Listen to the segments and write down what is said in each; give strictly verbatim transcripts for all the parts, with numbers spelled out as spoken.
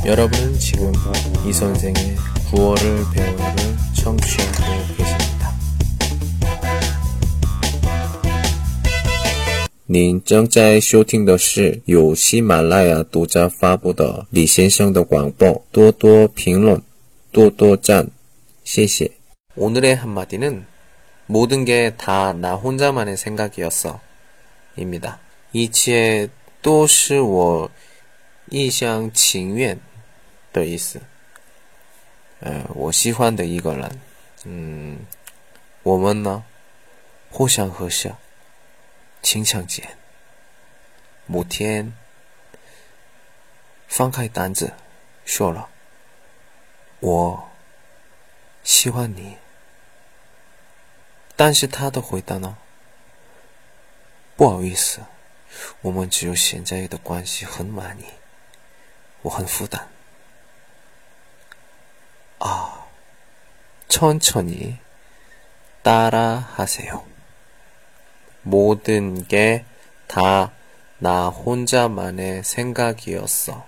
여러분은 지금 이 선생의 구월을 배우를 청취하고 계십니다. 您正在收听的是由喜马拉雅独家发布的李先生的广播，多多评论，多多赞，谢谢。 오늘의 한마디는 모든 게 다 나 혼자만의 생각이었어 입니다. 一切都是我一厢情愿的意思。呃，我喜欢的一个人，嗯，我们呢，互相合适，情相间。某天，放开胆子，说了，我喜欢你。但是他的回答呢？不好意思，我们只有现在的关系很满意，我很负担。 아, 천천히 따라하세요. 모든 게 다 나 혼자만의 생각이었어.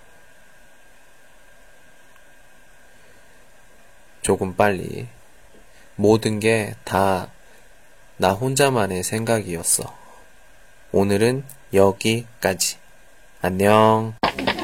조금 빨리. 모든 게 다 나 혼자만의 생각이었어. 오늘은 여기까지. 안녕.